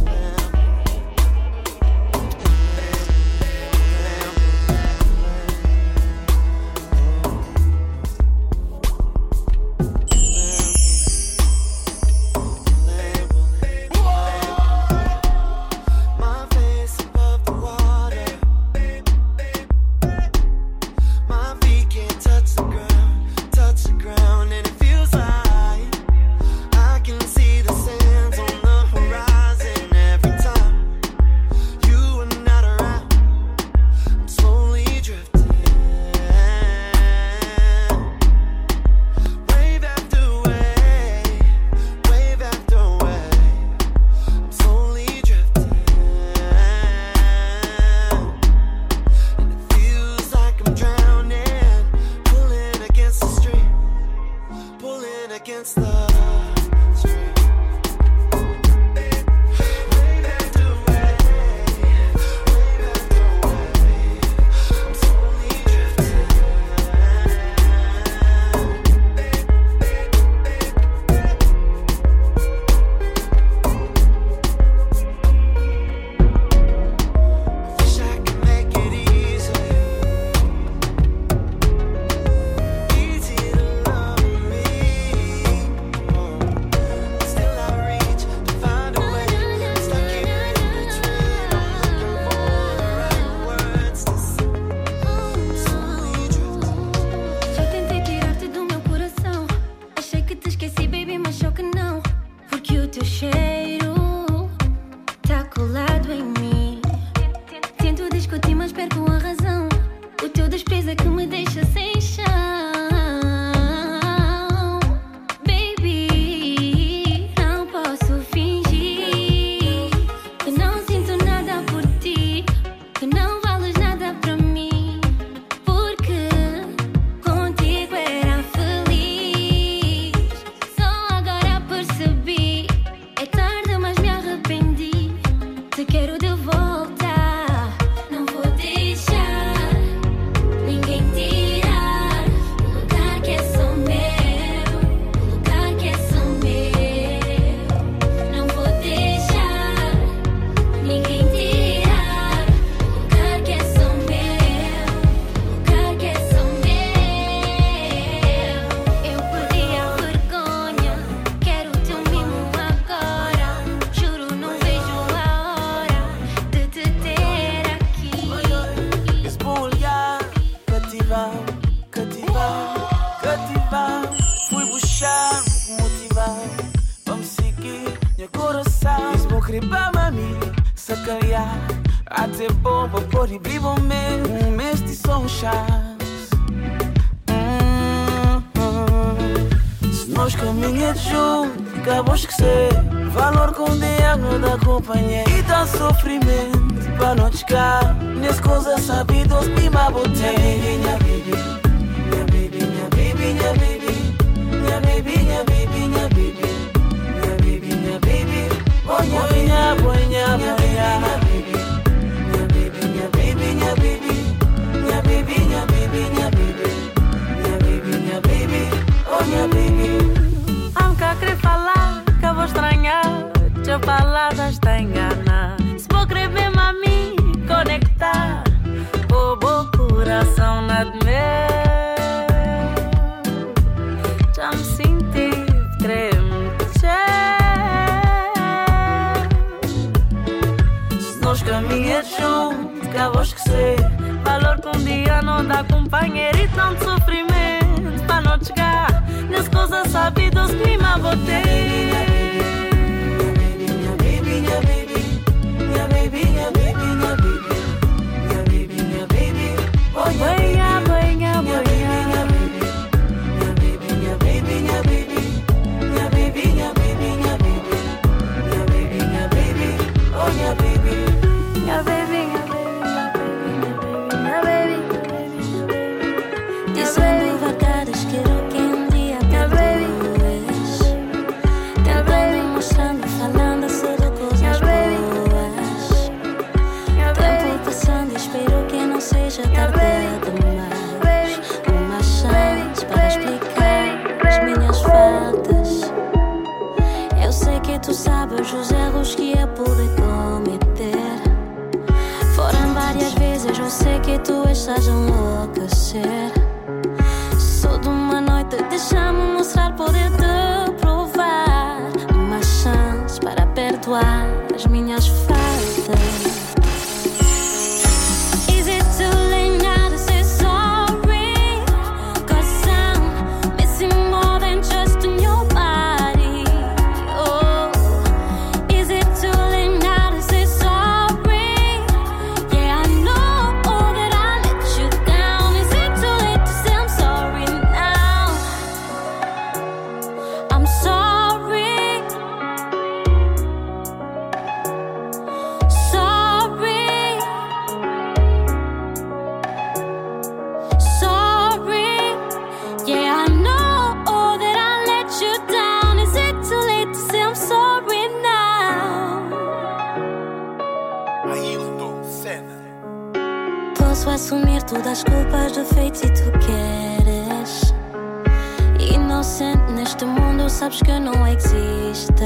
Speaker 11: My face above the water. My feet can't touch the ground, touch the ground, and it feels like I can see the sands on the horizon every time you are not around. I'm slowly drifting, wave after wave, wave after wave. I'm slowly drifting, and it feels like I'm drowning, pulling against the stream, pulling against the stream. Wave after wave, wave after wave. I'm slowly drifting. Wish I could make it easy, easy to love me. Still I reach to find a way. Stuck here in between. I'm looking for the right words to say. I'm slowly drifting.
Speaker 2: Já tentei tirar-te do meu coração. Achei que te esqueci, baby, mas só que não. Porque o teu cheiro tá colado em mim. Tento discutir, mas perco a razão. O teu desprezo é que me deixa sem chão. Baby, não posso fingir que não sinto nada por ti, que não vales nada pra mim. Porque contigo era feliz. Só agora percebi. É tarde, mas me arrependi. Te quero de volta. Não vou deixar ninguém tirar o lugar que é só meu, o lugar que é só meu. Não vou deixar ninguém tirar o lugar que é só meu, o lugar que é só meu. Eu perdi a vergonha, quero teu mimo agora. Juro, não vejo a hora de te ter aqui.
Speaker 3: Esse bom olhar, cativar, cativar, cativar. Fui buscar, motivar, vamos seguir meu coração. Esse bom querer pra mami, sacanear. Até bom pra pôr e vivo mesmo. Um mês de só um chance. Hum, hum. Se nós caminhamos juntos, acabou de esquecer. Valor com diabo da companhia. E dá sofrimento pra não chegar. Nesse coisa sabidos, prima botei. Minha baby, minha baby, minha baby, minha baby. Minha baby, minha baby, minha baby. Minha baby, minha baby. Oh, minha minha, minha, minha baby. Minha baby, minha baby, minha baby. Minha baby, minha baby, minha baby. Minha baby, minha baby. Oh, minha baby.
Speaker 14: Há um que a querer falar, que eu vou estranhar. Teu palavras te engana. Se vou querer ver mami conectar o bom coração na de meu. Já me senti tremer.
Speaker 3: Se nós caminhamos juntos, acabou de esquecer.
Speaker 14: Valor que um dia não dá companheiro e tanto sofrimento para não chegar nesse gostosa, sabe dos clima botei.
Speaker 6: Minha baby, minha baby, minha baby, minha baby, minha baby, minha baby, minha baby, oh
Speaker 14: banha, banha, banha,
Speaker 6: minha baby, minha baby, minha baby, minha baby, minha baby, minha baby, minha baby, minha baby, minha baby, oh minha baby,
Speaker 14: minha baby, minha baby, minha baby.
Speaker 2: Dizendo verdades, quero que um dia perdoes. Tentando, mostrando, falando sobre coisas boas. Tempo passando, espero que não seja tarde demais. Uma chance para explicar as minhas faltas. Eu sei que tu sabes os erros que eu pude cometer. Foram várias vezes, eu sei que tu estás a enlouquecer. Só de uma noite, deixa-me mostrar, poder-te provar. Uma chance para perdoar as minhas faltas. Is it too late now to say sorry? 'Cause I'm missing more than just in your body. Oh, is it too late now to say sorry? Yeah, I know that I let you down. Is it too late to say I'm sorry now? I'm sorry. Sorry. Sorry. Yeah, I know that I let you down. Is it too late to say I'm sorry now?
Speaker 11: Ailton Senna.
Speaker 2: Posso assumir todas as culpas, defeitos e tu queres. Inocente neste mundo, sabes que não existe.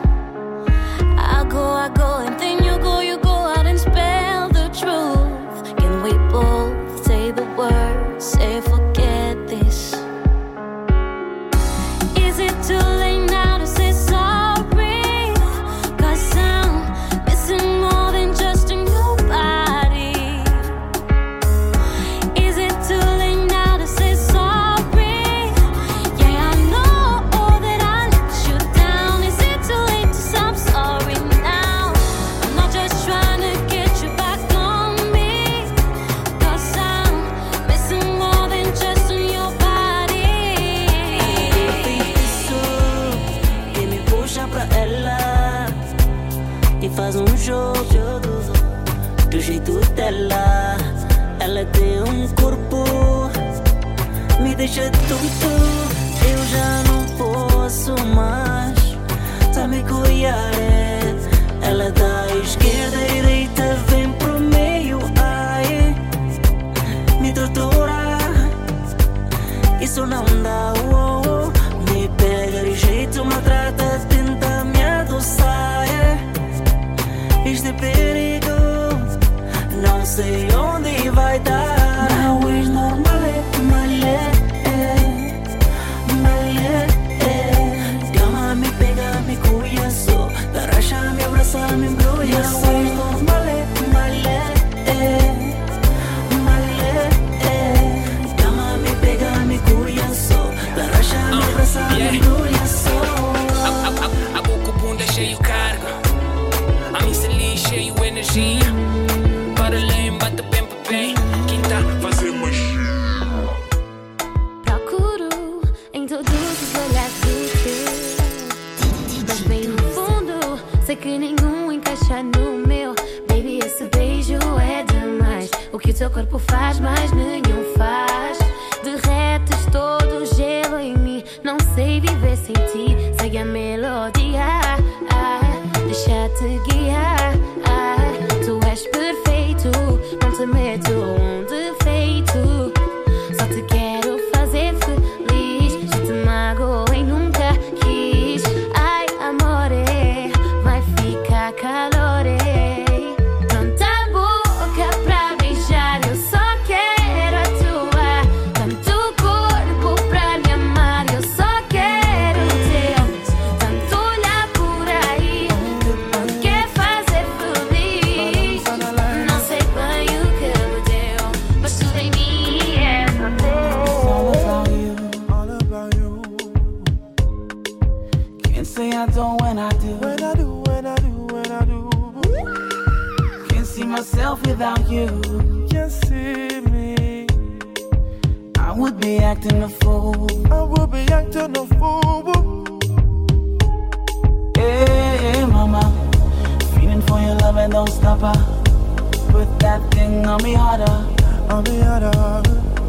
Speaker 2: I go, I go, and then you go, you go out and spell the truth. Can we both say the words, say forget this? Is it too late now to say sorry? 'Cause I'm missing more than just in your body. Is it too late now to say sorry? Yeah, I know that I let you down. Is it too late to say I'm sorry now? I'm not just trying to get you back on me. 'Cause I'm missing more than just in your body.
Speaker 6: isso que me puxa pra ela e faz um jogo do jeito dela. Ela tem um corpo, me deixa tonto. Eu já não posso mais, tá me cuidar. Ela da esquerda e direita vem pro meio, ai, me tortura. Isso não dá, oh, oh. Me pega de jeito, maltrata, tenta me adoçar. Este é perigo, não sei onde vai dar. Não és normal, é malé, malé. Cama, me pega, me cuida só. Daracha, me abraça, me embrulha só. Não és normal, é malé, malé. Cama, me pega, me cuida só. Daracha, me abraça, me embrulha só.
Speaker 5: A boca bunda cheio carga, a missa ali cheio energia. Para além, bate bem para bem. Quinta, fazer magia.
Speaker 2: Procuro em todos os olhares o teu, mas bem no fundo sei que nenhum encaixa no meu. Baby, esse beijo é demais. O que o teu corpo faz, mais nenhum faz. Derretes todo o gelo em mim. Não sei viver sem ti. Segue a melodia, ah, deixa-te guiar, ah. Tu és perfeito, não te meto um defeito. Só te quero fazer feliz. Já te magoei, nunca quis. Ai, amore, vai ficar calore. Tanta boca pra beijar, eu só quero a tua. Tanto corpo pra me amar, eu só quero o teu. Tanto olhar por aí que me quer fazer feliz. Não sei bem o que me deu, mas tudo em mim é só teu.
Speaker 11: All about you, all about you.
Speaker 3: myself without you.
Speaker 11: Can't see me.
Speaker 3: I would be acting a fool.
Speaker 11: I would be acting a fool.
Speaker 3: Hey, hey, mama, feeling for your love and don't stop her. Put that thing on me harder,
Speaker 11: on me harder.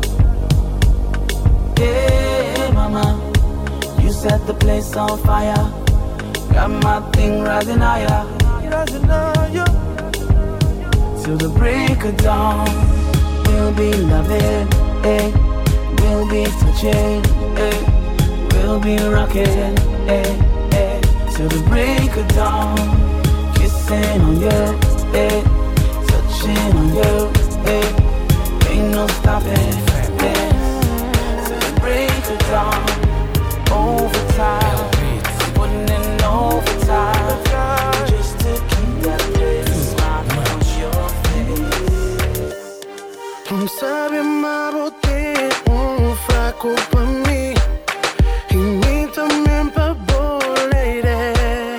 Speaker 3: Hey, hey, mama, you set the place on fire. Got my thing rising higher,
Speaker 11: rising higher.
Speaker 3: Till the break of dawn, we'll be loving, eh? We'll be touching, eh? We'll be rocking, eh? Eh? Till the break of dawn, kissing on you, eh? Touching on you, eh? Ain't no stopping, eh? Till the break of dawn, overtime, putting in overtime, just to keep that little smile on your face.
Speaker 11: Não sabe amar ou ter um fraco pra mim, e mim também pra boleira.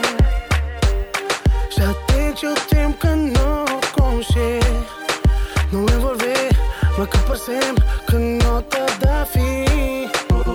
Speaker 11: Já desde o tempo que não conchei, não envolver, mas que por sempre que não te dá fim.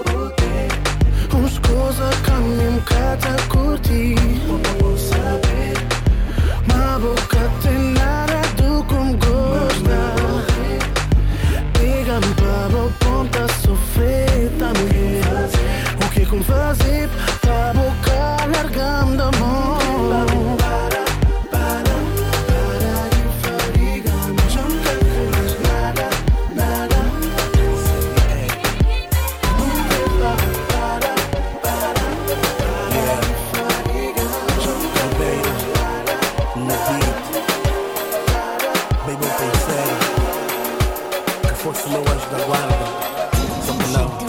Speaker 11: Uns coisas que a mim me cata curtir, saber, mas boca tem nada do como gosta. Pega-me para o ponto a sofrer também. O que como fazer para a boca largar-me da mão? Para, para, para de fadigar-me. Já não quero mais nada, nada. Para, para, para, para de fadigar-me. Já não quero mais nada, nada. Baby, eu pensei que fosse o meu anjo da guarda, só que não,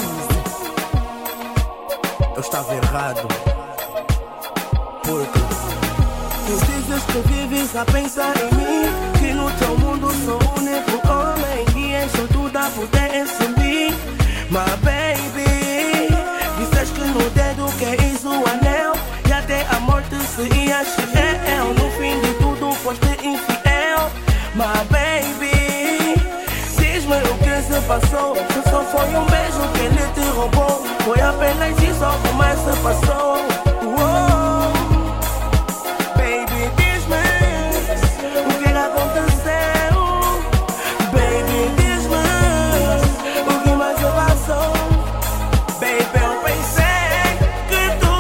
Speaker 11: eu estava errado. Porque tu dizes que vives a pensar em mim, que no teu mundo sou o único homem e encho tudo a poder subir. Mas baby, dizes que no dedo queres o anel e até a morte seria fiel. No fim de tudo foste infiel. Mas baby, diz-me o que se passou. Se só foi um beijo que ele te roubou, foi apenas isso o mais se passou. Uou. Baby, diz-me o que aconteceu. Baby, diz-me o que mais se passou. Baby, eu pensei que tu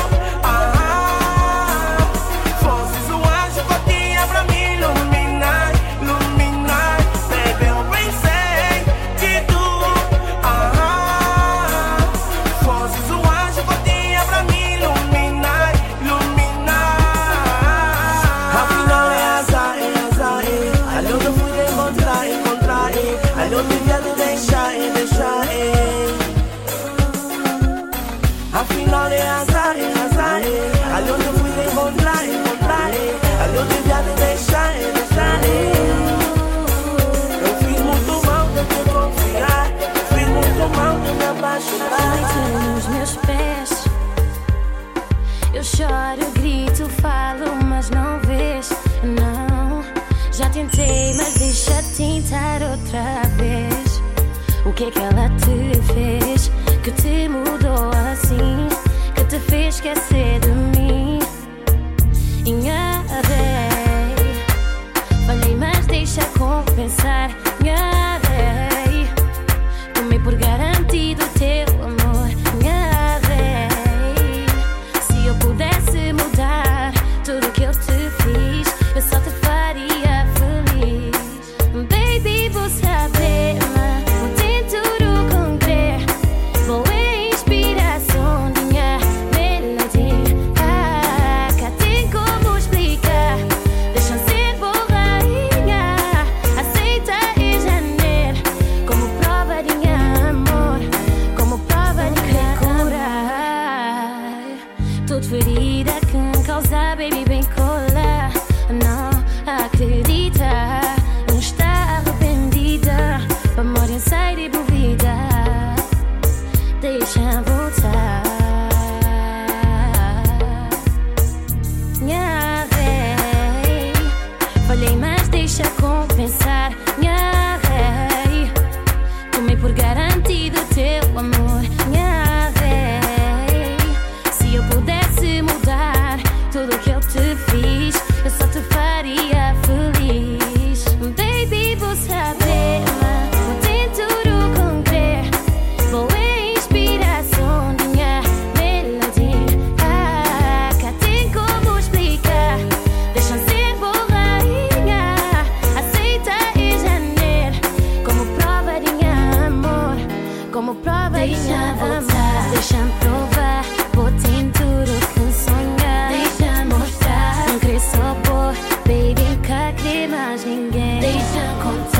Speaker 11: ah, fosses o anjo que eu tinha pra me iluminar, iluminar. Baby, eu pensei que tu ah, fosses o anjo que eu tinha pra me iluminar, iluminar. Afinal é azar, é azar, é. Ali onde eu fui te encontrar, encontrar, é. Ali eu devia te deixar, é, deixar, é. Afinal é azar, é azar, é. Ali onde eu fui te encontrar, encontrar, é. Ali eu devia te deixar, é, deixar, é. Eu fiz muito mal de te confiar, eu fiz muito mal de me apaixonar.
Speaker 4: Deito nos meus pés, eu choro, grito, falo, mas não vês, não. Já tentei, mas deixa tentar outra vez. O que é que ela te fez, que te mudou assim, que te fez esquecer de mim? Enganei, falhei, mas deixa compensar. Enganei, tomei por garantido teu amor. Enganei, se eu pudesse mudar tudo que eu te fiz, eu só te faria feliz. Baby, vou saber, vou tentar concrer. Boa inspiração, minha melodia. Ah, cá tem como explicar. Deixa ser boa rainha, aceita
Speaker 2: só pôr, baby, cá que mais ninguém. Deixa acontecer.